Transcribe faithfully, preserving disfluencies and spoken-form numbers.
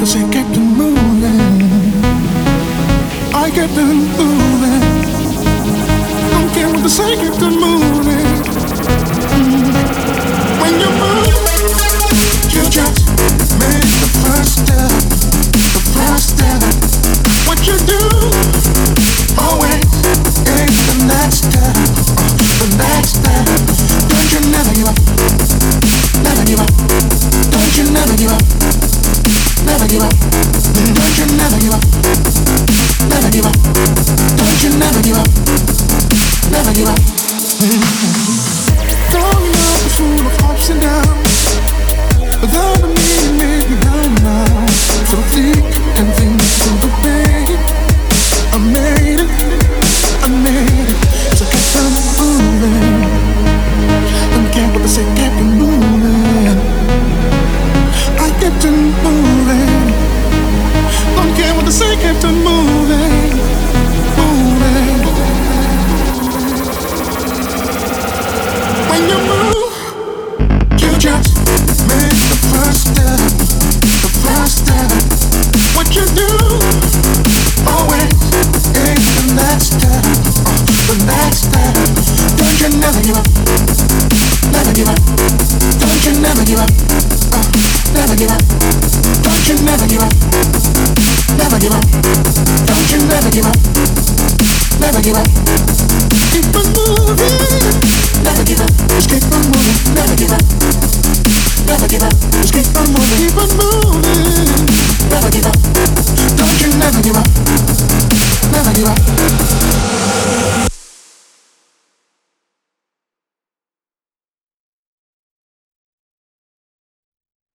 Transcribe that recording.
say keep on moving. I kept on moving. Don't care what they say, keep on moving. Mm. When you move, you just make the first step. The first step. What you do always is the next step. The next step. Don't you never give up. Never give up. Don't you never give up. Never give up. Don't you never give up. Never give up. Don't you never give up. Never give up. Growing up is full of ups and downs. Without a meaning, made me down now. So thick and thin to the pain. I made it. I made it. So keep on moving. Don't care what they say, keep on moving. I kept on moving. Don't care what they say, kept on moving. Moving. When you move, you just make the first step. The first step. What you do always is the next step. The next step. Don't you never give up. Never give up. Don't you never give up. Uh, never give up. Don't you never give up. Never give up. Don't you never give up. Never give up. Keep on moving. Never give up. Just keep on moving. Never give up. Never give up. Just keep on moving. Keep on moving. Never give up. Don't you never give up.